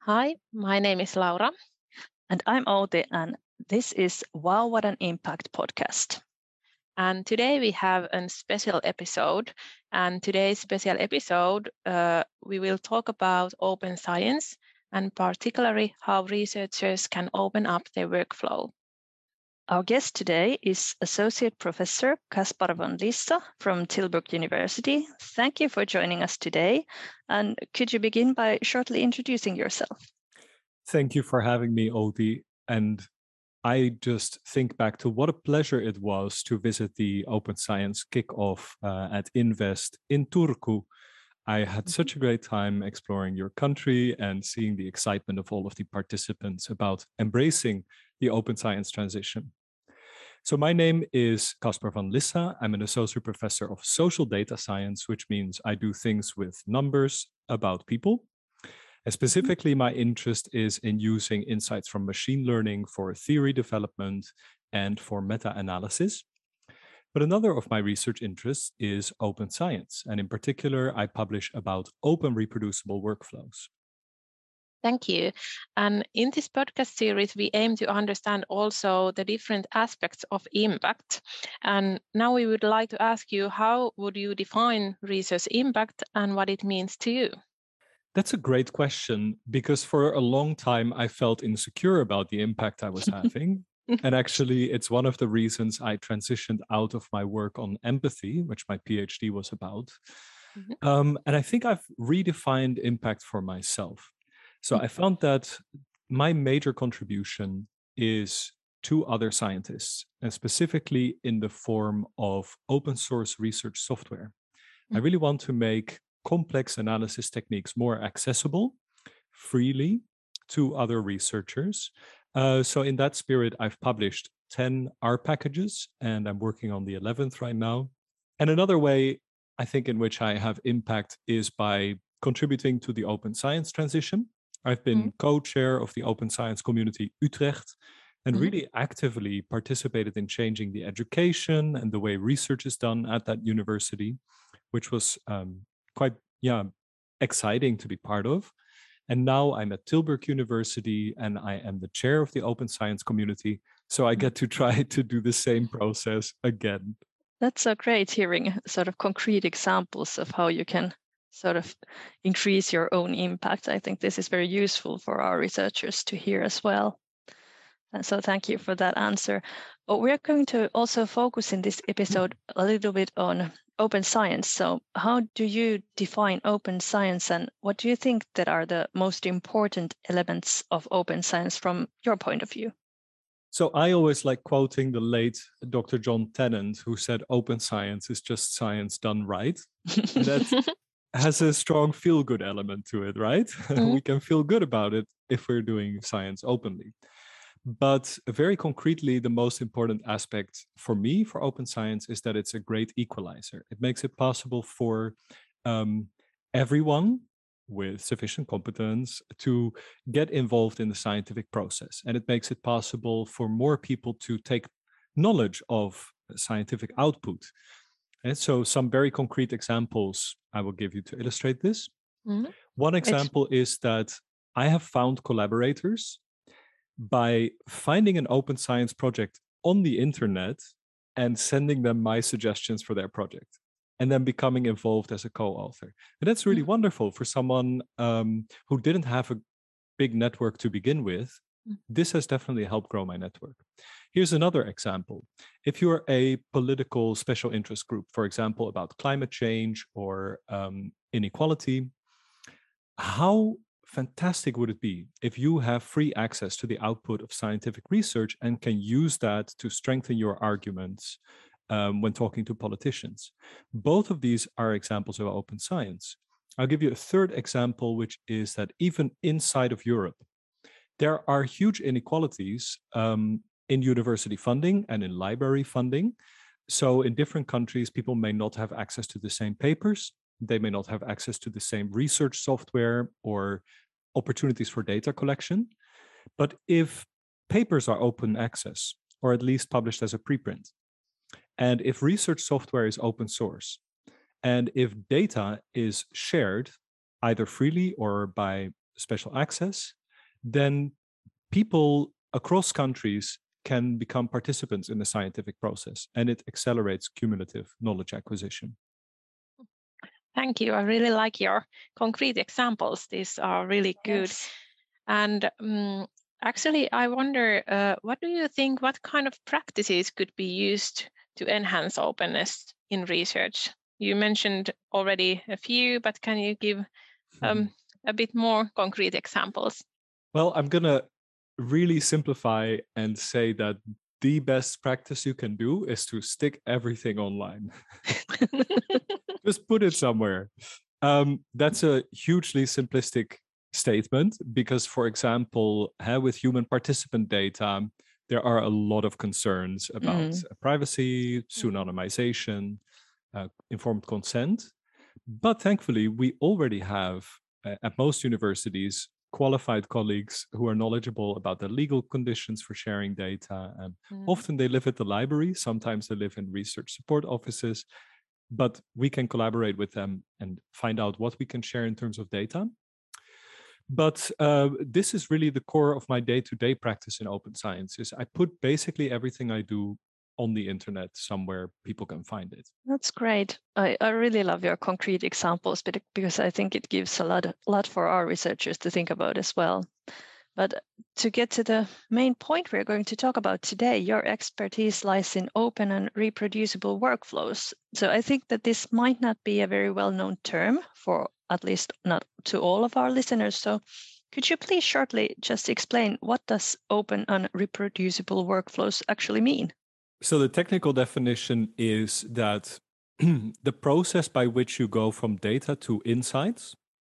Hi, my name is Laura. And I'm Outi, and this is Wow, What an Impact podcast. And today we have a special episode. And today's special episode, we will talk about open science and particularly how researchers can open up their workflow. Our guest today is Associate Professor Kaspar von Lissa from Tilburg University. Thank you for joining us today. And could you begin by shortly introducing yourself? Thank you for having me, Outi. And I just think back to what a pleasure it was to visit the Open Science kickoff at Invest in Turku. I had such a great time exploring your country and seeing the excitement of all of the participants about embracing the open science transition. So my name is Kaspar van Lissa. I'm an associate professor of social data science, which means I do things with numbers about people. And specifically, my interest is in using insights from machine learning for theory development and for meta-analysis. But another of my research interests is open science. And in particular, I publish about open reproducible workflows. Thank you. And in this podcast series, we aim to understand also the different aspects of impact. And now we would like to ask you, how would you define research impact and what it means to you? That's a great question, because for a long time I felt insecure about the impact I was having. And actually, it's one of the reasons I transitioned out of my work on empathy, which my PhD was about. And I think I've redefined impact for myself. So I found that my major contribution is to other scientists, and specifically in the form of open source research software. I really want to make complex analysis techniques more accessible freely to other researchers. So in that spirit, I've published 10 R packages, and I'm working on the 11th right now. And another way I think in which I have impact is by contributing to the open science transition. I've been co-chair of the open science community Utrecht and really actively participated in changing the education and the way research is done at that university, which was quite exciting to be part of. And now I'm at Tilburg University and I am the chair of the open science community. So I get to try to do the same process again. That's so great hearing sort of concrete examples of how you can sort of increase your own impact. I think this is very useful for our researchers to hear as well. And so thank you for that answer. But we're going to also focus in this episode a little bit on open science. So how do you define open science, and what do you think that are the most important elements of open science from your point of view? So I always like quoting the late Dr. John Tennant, who said open science is just science done right. And that has a strong feel-good element to it, right? We can feel good about it if we're doing science openly. But very concretely, the most important aspect for me for open science is that it's a great equalizer. It makes it possible for everyone with sufficient competence to get involved in the scientific process. And it makes it possible for more people to take knowledge of scientific output. And so some very concrete examples I will give you to illustrate this. One example is that I have found collaborators by finding an open science project on the internet and sending them my suggestions for their project, and then becoming involved as a co-author. And that's really wonderful for someone who didn't have a big network to begin with. This has definitely helped grow my network. Here's another example. If you're a political special interest group, for example, about climate change or inequality, how fantastic would it be if you have free access to the output of scientific research and can use that to strengthen your arguments when talking to politicians? Both of these are examples of open science. I'll give you a third example, which is that even inside of Europe, there are huge inequalities in university funding and in library funding. So in different countries, people may not have access to the same papers. They may not have access to the same research software or opportunities for data collection. But if papers are open access, or at least published as a preprint, and if research software is open source, and if data is shared either freely or by special access, then people across countries can become participants in the scientific process, and it accelerates cumulative knowledge acquisition. Thank you. I really like your concrete examples. These are really good. Yes. And actually, I wonder, what do you think, what kind of practices could be used to enhance openness in research? You mentioned already a few, but can you give a bit more concrete examples? Well, I'm going to really simplify and say that the best practice you can do is to stick everything online. Just put it somewhere. That's a hugely simplistic statement because, for example, with human participant data, there are a lot of concerns about privacy, pseudonymization, informed consent. But thankfully, we already have, at most universities, qualified colleagues who are knowledgeable about the legal conditions for sharing data. And often they live at the library, sometimes they live in research support offices, but we can collaborate with them and find out what we can share in terms of data. But this is really the core of my day-to-day practice in open science. Is I put basically everything I do on the internet somewhere people can find it. That's great. I really love your concrete examples because I think it gives a lot for our researchers to think about as well. But to get to the main point we're going to talk about today, your expertise lies in open and reproducible workflows. So I think that this might not be a very well-known term for at least not to all of our listeners. So could you please shortly just explain what does open and reproducible workflows actually mean? So the technical definition is that the process by which you go from data to insights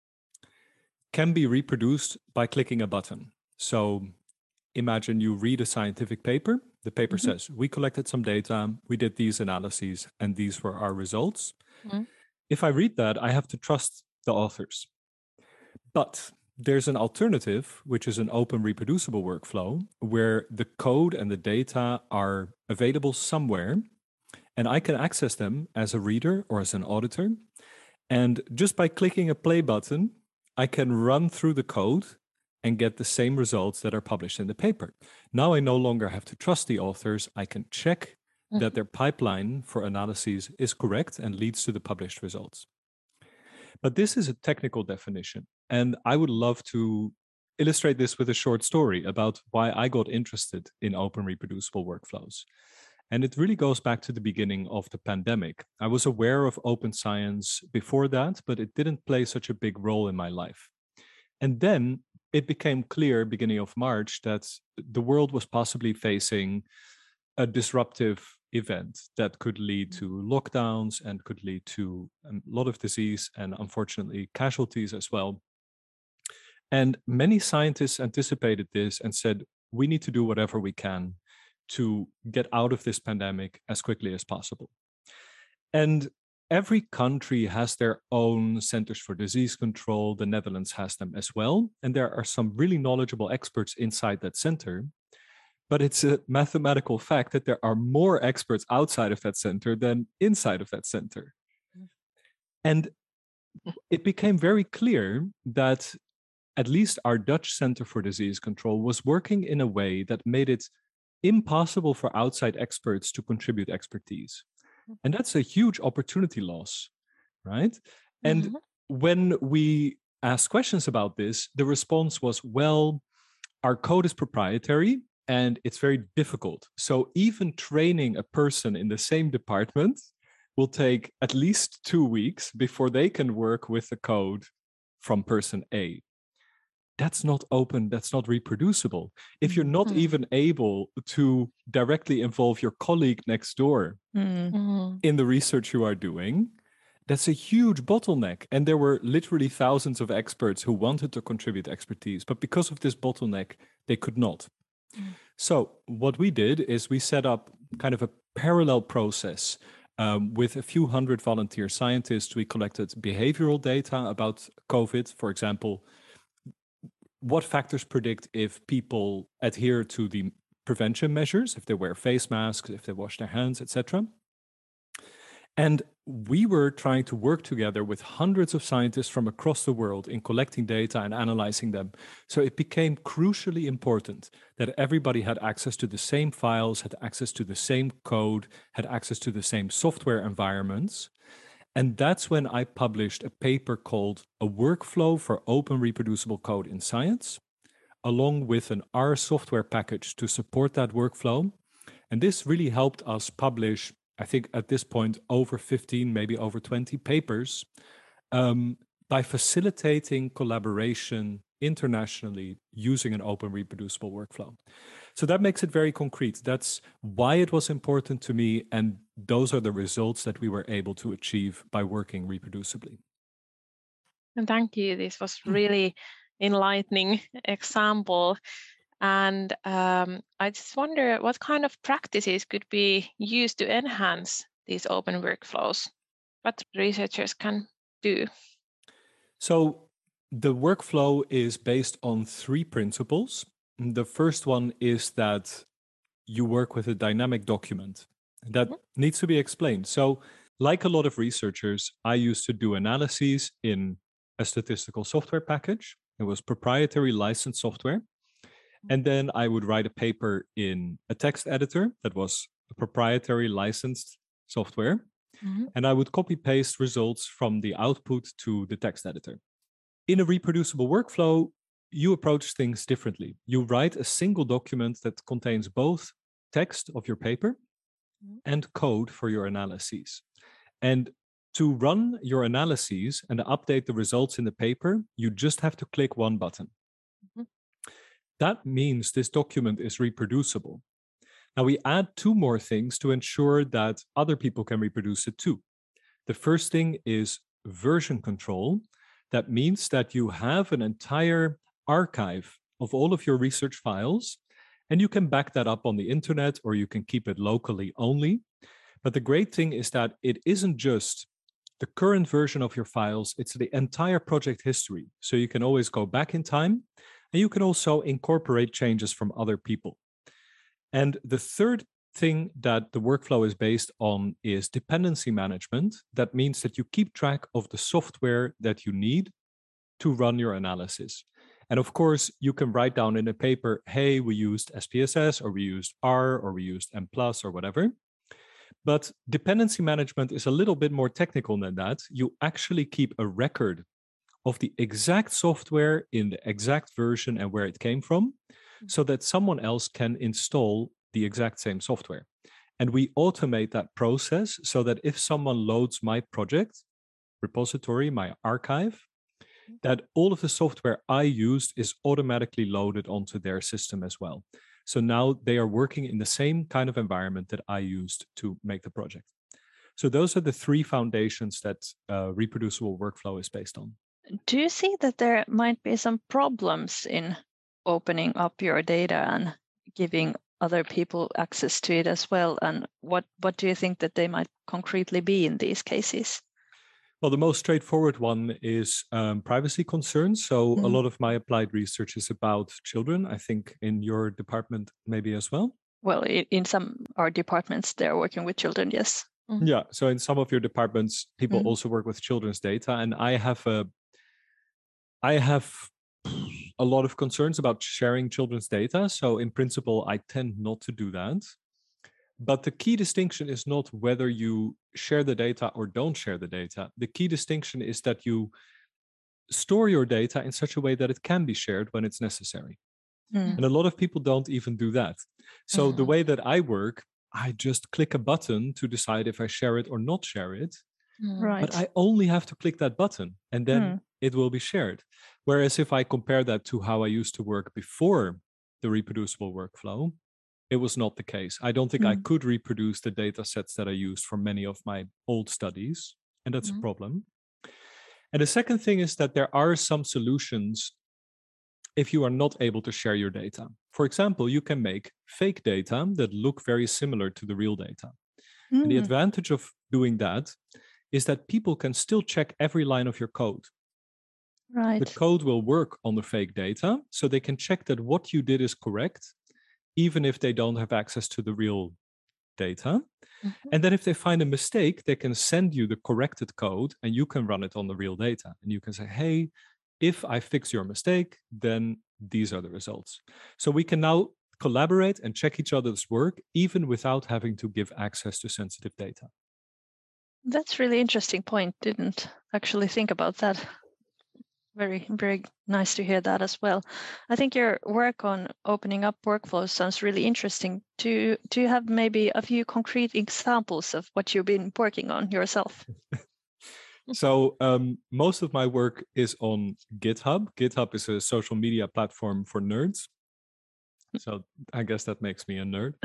can be reproduced by clicking a button. So imagine you read a scientific paper. The paper says, we collected some data, we did these analyses, and these were our results. If I read that, I have to trust the authors. But there's an alternative, which is an open reproducible workflow, where the code and the data are available somewhere, and I can access them as a reader or as an auditor. And just by clicking a play button, I can run through the code and get the same results that are published in the paper. Now I no longer have to trust the authors. I can check that their pipeline for analyses is correct and leads to the published results. But this is a technical definition. And I would love to illustrate this with a short story about why I got interested in open reproducible workflows. And it really goes back to the beginning of the pandemic. I was aware of open science before that, but it didn't play such a big role in my life. And then it became clear, beginning of March, that the world was possibly facing a disruptive event that could lead to lockdowns and could lead to a lot of disease and unfortunately casualties as well. And many scientists anticipated this and said, we need to do whatever we can to get out of this pandemic as quickly as possible. And every country has their own centers for disease control. The Netherlands has them as well. And there are some really knowledgeable experts inside that center. But it's a mathematical fact that there are more experts outside of that center than inside of that center. And it became very clear that at least our Dutch Center for Disease Control was working in a way that made it impossible for outside experts to contribute expertise. And that's a huge opportunity loss, right? And when we asked questions about this, the response was, well, our code is proprietary and it's very difficult. So even training a person in the same department will take at least 2 weeks before they can work with the code from person A. That's not open, that's not reproducible. If you're not even able to directly involve your colleague next door in the research you are doing, that's a huge bottleneck. And there were literally thousands of experts who wanted to contribute expertise, but because of this bottleneck, they could not. So what we did is we set up kind of a parallel process with a few hundred volunteer scientists. We collected behavioral data about COVID, for example, what factors predict if people adhere to the prevention measures, if they wear face masks, if they wash their hands, etc. And we were trying to work together with hundreds of scientists from across the world in collecting data and analyzing them. So it became crucially important that everybody had access to the same files, had access to the same code, had access to the same software environments. And that's when I published a paper called A Workflow for Open Reproducible Code in Science, along with an R software package to support that workflow. And this really helped us publish, I think at this point, over 15, maybe over 20 papers by facilitating collaboration internationally using an open reproducible workflow. So that makes it very concrete. That's why it was important to me. And those are the results that we were able to achieve by working reproducibly. And thank you. This was really enlightening example. And I just wonder what kind of practices could be used to enhance these open workflows? What researchers can do? So the workflow is based on 3 principles. The first one is that you work with a dynamic document. That needs to be explained. So like a lot of researchers, I used to do analyses in a statistical software package. It was proprietary licensed software. And then I would write a paper in a text editor that was a proprietary licensed software. And I would copy paste results from the output to the text editor. In a reproducible workflow, you approach things differently. You write a single document that contains both text of your paper and code for your analyses. And to run your analyses and update the results in the paper, you just have to click one button. That means this document is reproducible. Now we add 2 more things to ensure that other people can reproduce it too. The first thing is version control. That means that you have an entire archive of all of your research files, and you can back that up on the internet or you can keep it locally only. But the great thing is that it isn't just the current version of your files, it's the entire project history. So you can always go back in time, and you can also incorporate changes from other people. And the third thing that the workflow is based on is dependency management. That means that you keep track of the software that you need to run your analysis. And of course, you can write down in a paper, hey, we used SPSS, or we used R, or we used M+, or whatever. But dependency management is a little bit more technical than that. You actually keep a record of the exact software in the exact version and where it came from, so that someone else can install the exact same software. And we automate that process so that if someone loads my project repository, my archive, that all of the software I used is automatically loaded onto their system as well. So now they are working in the same kind of environment that I used to make the project. So those are the 3 foundations that reproducible workflow is based on. Do you see that there might be some problems in opening up your data and giving other people access to it as well? And what do you think that they might concretely be in these cases? Well, the most straightforward one is privacy concerns. So a lot of my applied research is about children. I think in your department maybe as well. Well, in some our departments, they're working with children, yes. Yeah. So in some of your departments, people also work with children's data. And I have a lot of concerns about sharing children's data. So in principle, I tend not to do that. But the key distinction is not whether you share the data or don't share the data. The key distinction is that you store your data in such a way that it can be shared when it's necessary. And a lot of people don't even do that. So the way that I work, I just click a button to decide if I share it or not share it. Right. But I only have to click that button and then it will be shared. Whereas if I compare that to how I used to work before the reproducible workflow, it was not the case. I don't think I could reproduce the data sets that I used for many of my old studies, and that's a problem. And the second thing is that there are some solutions if you are not able to share your data. For example, you can make fake data that look very similar to the real data. And the advantage of doing that is that people can still check every line of your code. Right. The code will work on the fake data, so they can check that what you did is correct, even if they don't have access to the real data. And then if they find a mistake, they can send you the corrected code and you can run it on the real data. And you can say, hey, if I fix your mistake, then these are the results. So we can now collaborate and check each other's work, even without having to give access to sensitive data. That's really interesting point. Didn't actually think about that. Very, very nice to hear that as well. I think your work on opening up workflows sounds really interesting. Do you have maybe a few concrete examples of what you've been working on yourself? So most of my work is on GitHub. GitHub is a social media platform for nerds. So I guess that makes me a nerd.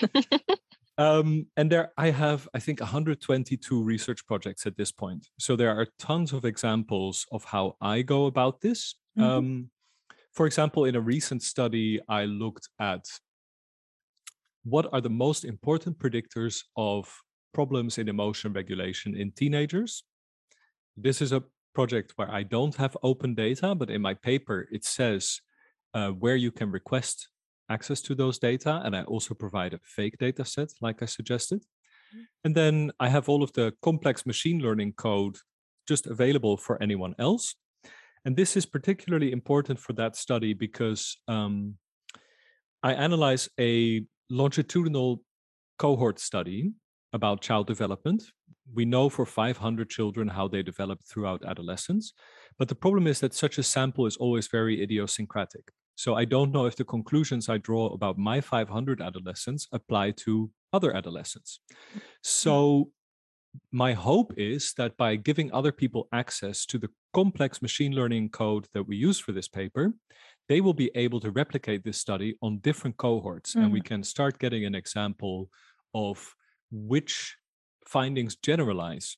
And there I have, I think, 122 research projects at this point. So there are tons of examples of how I go about this. For example, in a recent study, I looked at what are the most important predictors of problems in emotion regulation in teenagers. This is a project where I don't have open data, but in my paper, it says where you can request access to those data. And I also provide a fake data set, like I suggested. And then I have all of the complex machine learning code just available for anyone else. And this is particularly important for that study because I analyze a longitudinal cohort study about child development. We know for 500 children how they develop throughout adolescence. But the problem is that such a sample is always very idiosyncratic. So I don't know if the conclusions I draw about my 500 adolescents apply to other adolescents. So my hope is that by giving other people access to the complex machine learning code that we use for this paper, they will be able to replicate this study on different cohorts. And we can start getting an example of which findings generalize.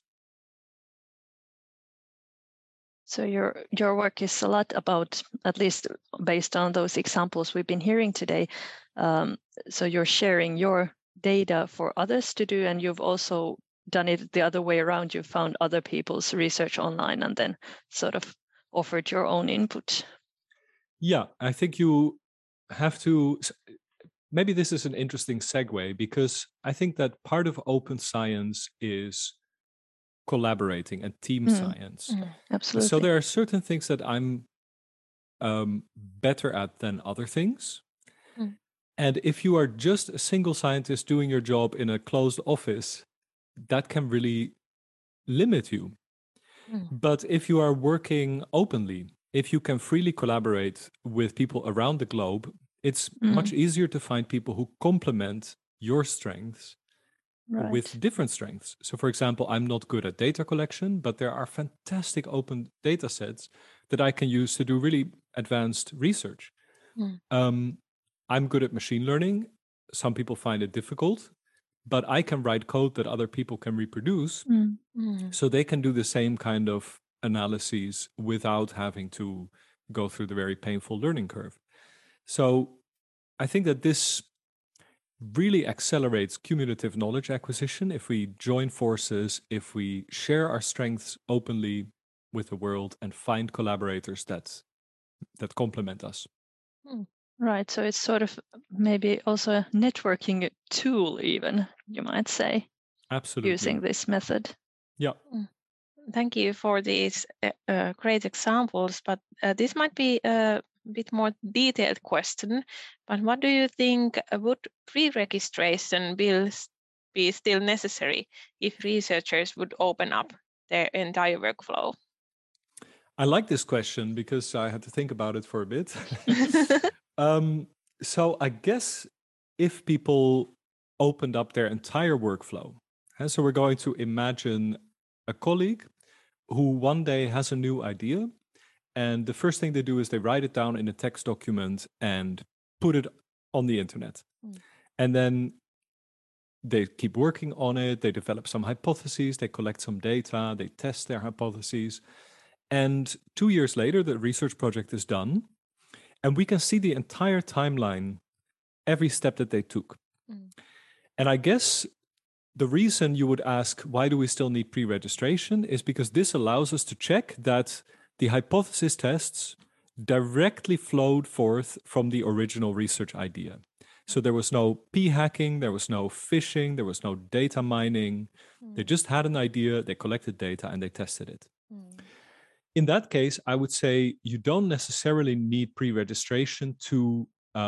So your work is a lot about, at least based on those examples we've been hearing today. So you're sharing your data for others to do, and you've also done it the other way around. You found other people's research online and then sort of offered your own input. Yeah, I think you have to, maybe this is an interesting segue, because I think that part of open science is collaborating and team science. Absolutely. So there are certain things that I'm better at than other things. And if you are just a single scientist doing your job in a closed office, that can really limit you. But if you are working openly, if you can freely collaborate with people around the globe, it's much easier to find people who complement your strengths with different strengths. So for example, I'm not good at data collection, but there are fantastic open data sets that I can use to do really advanced research. I'm good at machine learning. Some people find it difficult, but I can write code that other people can reproduce. So they can do the same kind of analyses without having to go through the very painful learning curve. So I think that this really accelerates cumulative knowledge acquisition if we join forces, if we share our strengths openly with the world and find collaborators that complement us. Right. So it's sort of maybe also a networking tool, even, you might say. Absolutely. Using this method. Yeah. Thank you for these great examples, but this might be a bit more detailed question. But what do you think, would pre-registration bills be still necessary if researchers would open up their entire workflow? I like this question because I had to think about it for a bit. So I guess if people opened up their entire workflow, so we're going to imagine a colleague who one day has a new idea, and the first thing they do is they write it down in a text document and put it on the internet. And then they keep working on it, they develop some hypotheses, they collect some data, they test their hypotheses. And 2 years later, the research project is done, and we can see the entire timeline, every step that they took. And I guess the reason you would ask, why do we still need pre-registration, is because this allows us to check that the hypothesis tests directly flowed forth from the original research idea. So there was no p-hacking, there was no phishing, there was no data mining. They just had an idea, they collected data, and they tested it. In that case, I would say you don't necessarily need pre-registration to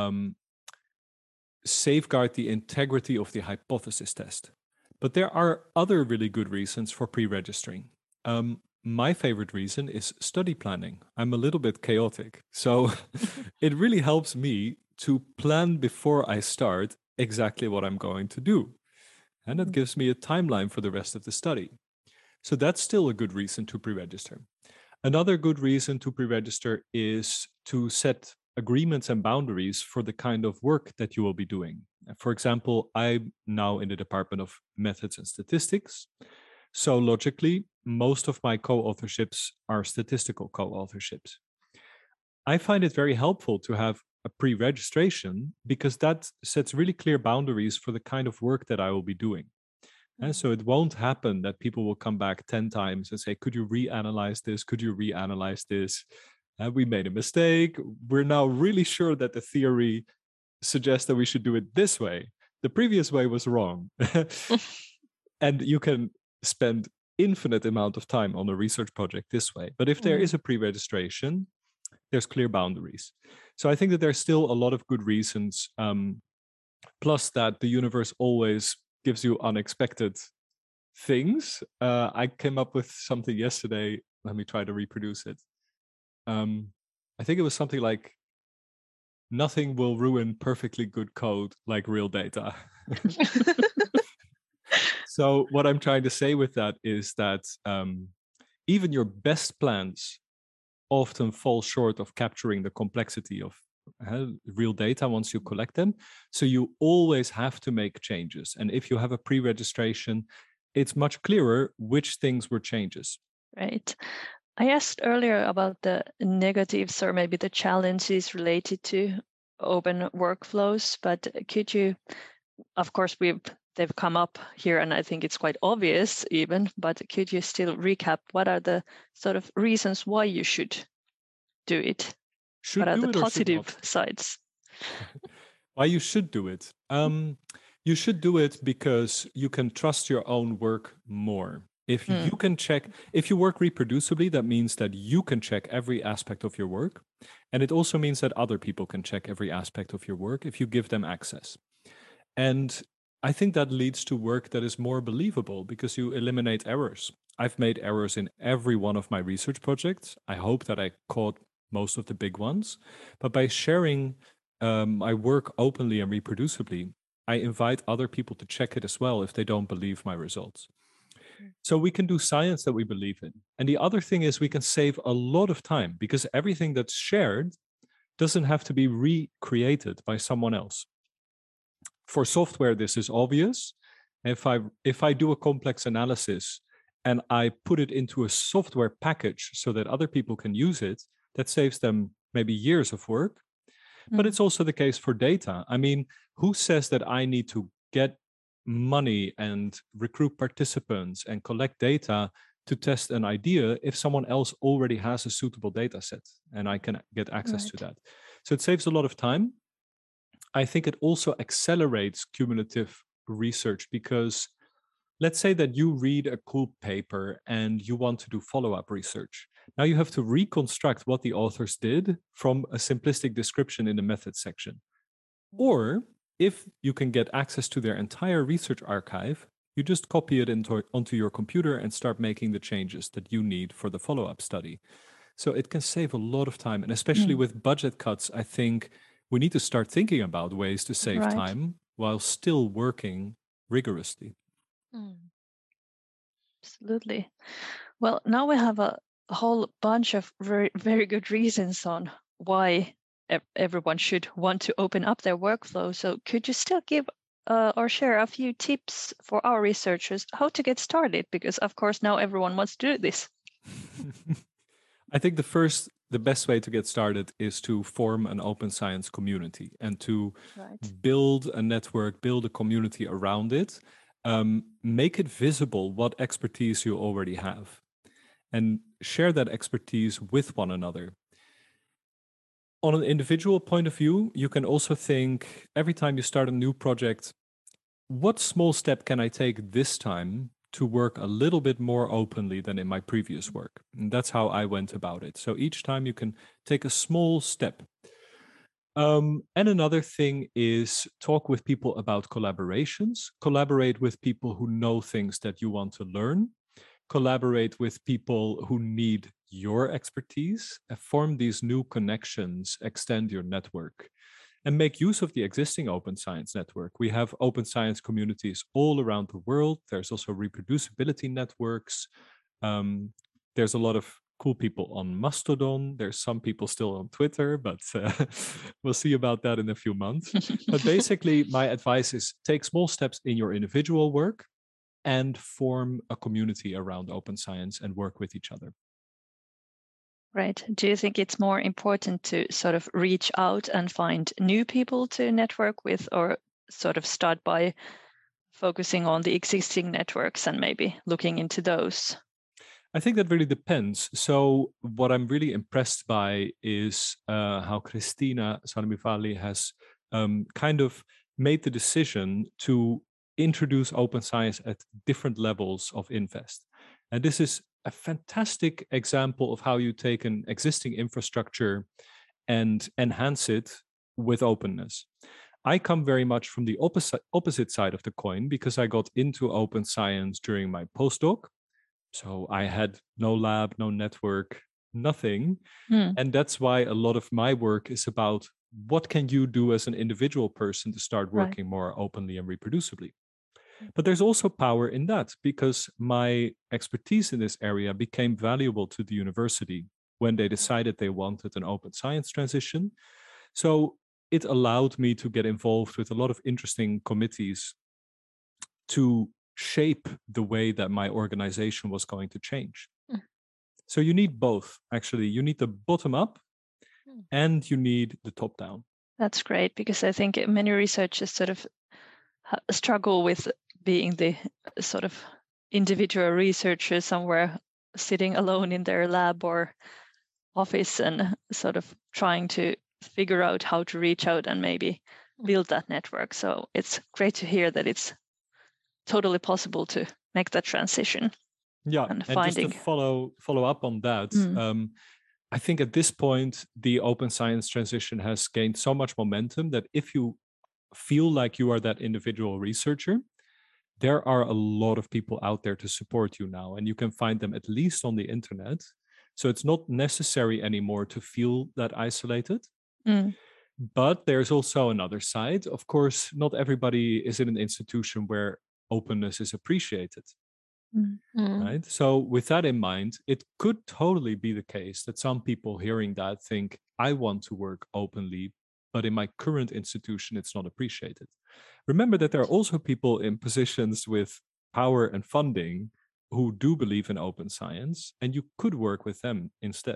safeguard the integrity of the hypothesis test. But there are other really good reasons for pre-registering. My favorite reason is study planning. I'm a little bit chaotic, so it really helps me to plan before I start exactly what I'm going to do. And it gives me a timeline for the rest of the study. So that's still a good reason to pre-register. Another good reason to pre-register is to set agreements and boundaries for the kind of work that you will be doing. For example, I'm now in the Department of Methods and Statistics. So logically, most of my co-authorships are statistical co-authorships. I find it very helpful to have a pre-registration because that sets really clear boundaries for the kind of work that I will be doing. And so it won't happen that people will come back 10 times and say, could you reanalyze this? Could you reanalyze this? We made a mistake. We're now really sure that the theory suggests that we should do it this way. The previous way was wrong. And you can spend infinite amount of time on a research project this way. But if there is a pre-registration, there's clear boundaries. So I think that there's still a lot of good reasons. Plus that the universe always gives you unexpected things. I came up with something yesterday. Let me try to reproduce it. I think it was something like, nothing will ruin perfectly good code like real data. So what I'm trying to say with that is that even your best plans often fall short of capturing the complexity of real data once you collect them. So you always have to make changes. And if you have a pre-registration, it's much clearer which things were changes. Right. I asked earlier about the negatives or maybe the challenges related to open workflows, but could you, of course, they've come up here and I think it's quite obvious even, but could you still recap what are the sort of reasons why you should do it? What are the positive sides? Why you should do it? You should do it because you can trust your own work more. If you can check, if you work reproducibly, that means that you can check every aspect of your work. And it also means that other people can check every aspect of your work if you give them access. And I think that leads to work that is more believable because you eliminate errors. I've made errors in every one of my research projects. I hope that I caught most of the big ones. But by sharing my work openly and reproducibly, I invite other people to check it as well if they don't believe my results. So we can do science that we believe in. And the other thing is we can save a lot of time because everything that's shared doesn't have to be recreated by someone else. For software, this is obvious. If I do a complex analysis and I put it into a software package so that other people can use it, that saves them maybe years of work. But it's also the case for data. I mean, who says that I need to get money and recruit participants and collect data to test an idea if someone else already has a suitable data set and I can get access to that? So it saves a lot of time. I think it also accelerates cumulative research because let's say that you read a cool paper and you want to do follow-up research. Now you have to reconstruct what the authors did from a simplistic description in the methods section. Or if you can get access to their entire research archive, you just copy it onto your computer and start making the changes that you need for the follow-up study. So it can save a lot of time. And especially with budget cuts, I think we need to start thinking about ways to save time while still working rigorously. Absolutely. Well, now we have a whole bunch of very, very good reasons on why everyone should want to open up their workflow. So could you still give or share a few tips for our researchers how to get started? Because of course now everyone wants to do this. I think the best way to get started is to form an open science community and to build a network, build a community around it, make it visible what expertise you already have and share that expertise with one another. On an individual point of view, you can also think every time you start a new project, what small step can I take this time to work a little bit more openly than in my previous work? And that's how I went about it. So each time you can take a small step. And another thing is talk with people about collaborations, collaborate with people who know things that you want to learn, collaborate with people who need your expertise, form these new connections, extend your network, and make use of the existing open science network. We have open science communities all around the world. There's also reproducibility networks. There's a lot of cool people on Mastodon. There's some people still on Twitter, but we'll see about that in a few months. But basically, my advice is take small steps in your individual work and form a community around open science and work with each other. Right. Do you think it's more important to sort of reach out and find new people to network with, or sort of start by focusing on the existing networks and maybe looking into those? I think that really depends. So what I'm really impressed by is how Christina Sarmivali has kind of made the decision to introduce open science at different levels of invest. And this is a fantastic example of how you take an existing infrastructure and enhance it with openness. I come very much from the opposite side of the coin because I got into open science during my postdoc. So I had no lab, no network, nothing. And that's why a lot of my work is about what can you do as an individual person to start working more openly and reproducibly. But there's also power in that because my expertise in this area became valuable to the university when they decided they wanted an open science transition. So it allowed me to get involved with a lot of interesting committees to shape the way that my organization was going to change. So you need both, actually. You need the bottom up and you need the top down. That's great, because I think many researchers sort of struggle with being the sort of individual researcher somewhere sitting alone in their lab or office and sort of trying to figure out how to reach out and maybe build that network. So it's great to hear that it's totally possible to make that transition. Yeah, and finding... just to follow up on that, I think at this point, the open science transition has gained so much momentum that if you feel like you are that individual researcher, there are a lot of people out there to support you now, and you can find them at least on the internet. So it's not necessary anymore to feel that isolated. But there's also another side. Of course, not everybody is in an institution where openness is appreciated. Right? So with that in mind, it could totally be the case that some people hearing that think, I want to work openly, but in my current institution, it's not appreciated. Remember that there are also people in positions with power and funding who do believe in open science, and you could work with them instead.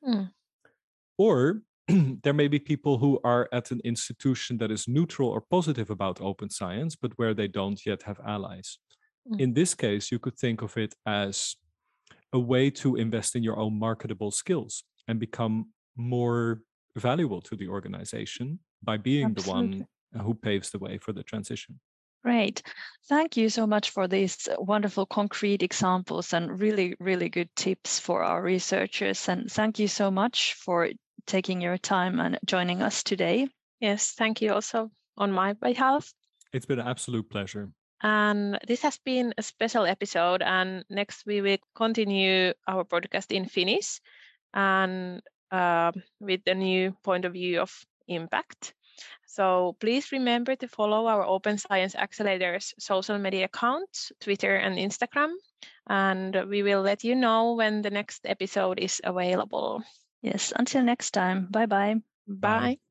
Or there may be people who are at an institution that is neutral or positive about open science, but where they don't yet have allies. In this case, you could think of it as a way to invest in your own marketable skills and become more valuable to the organization by being the one who paves the way for the transition. Great. Thank you so much for these wonderful concrete examples and really, really good tips for our researchers. And thank you so much for taking your time and joining us today. Yes, thank you also on my behalf. It's been an absolute pleasure. And this has been a special episode, and next we will continue our podcast in Finnish and with a new point of view of impact. So please remember to follow our Open Science Accelerators social media accounts, Twitter and Instagram, and we will let you know when the next episode is available. Yes, until next time. Bye-bye. Bye.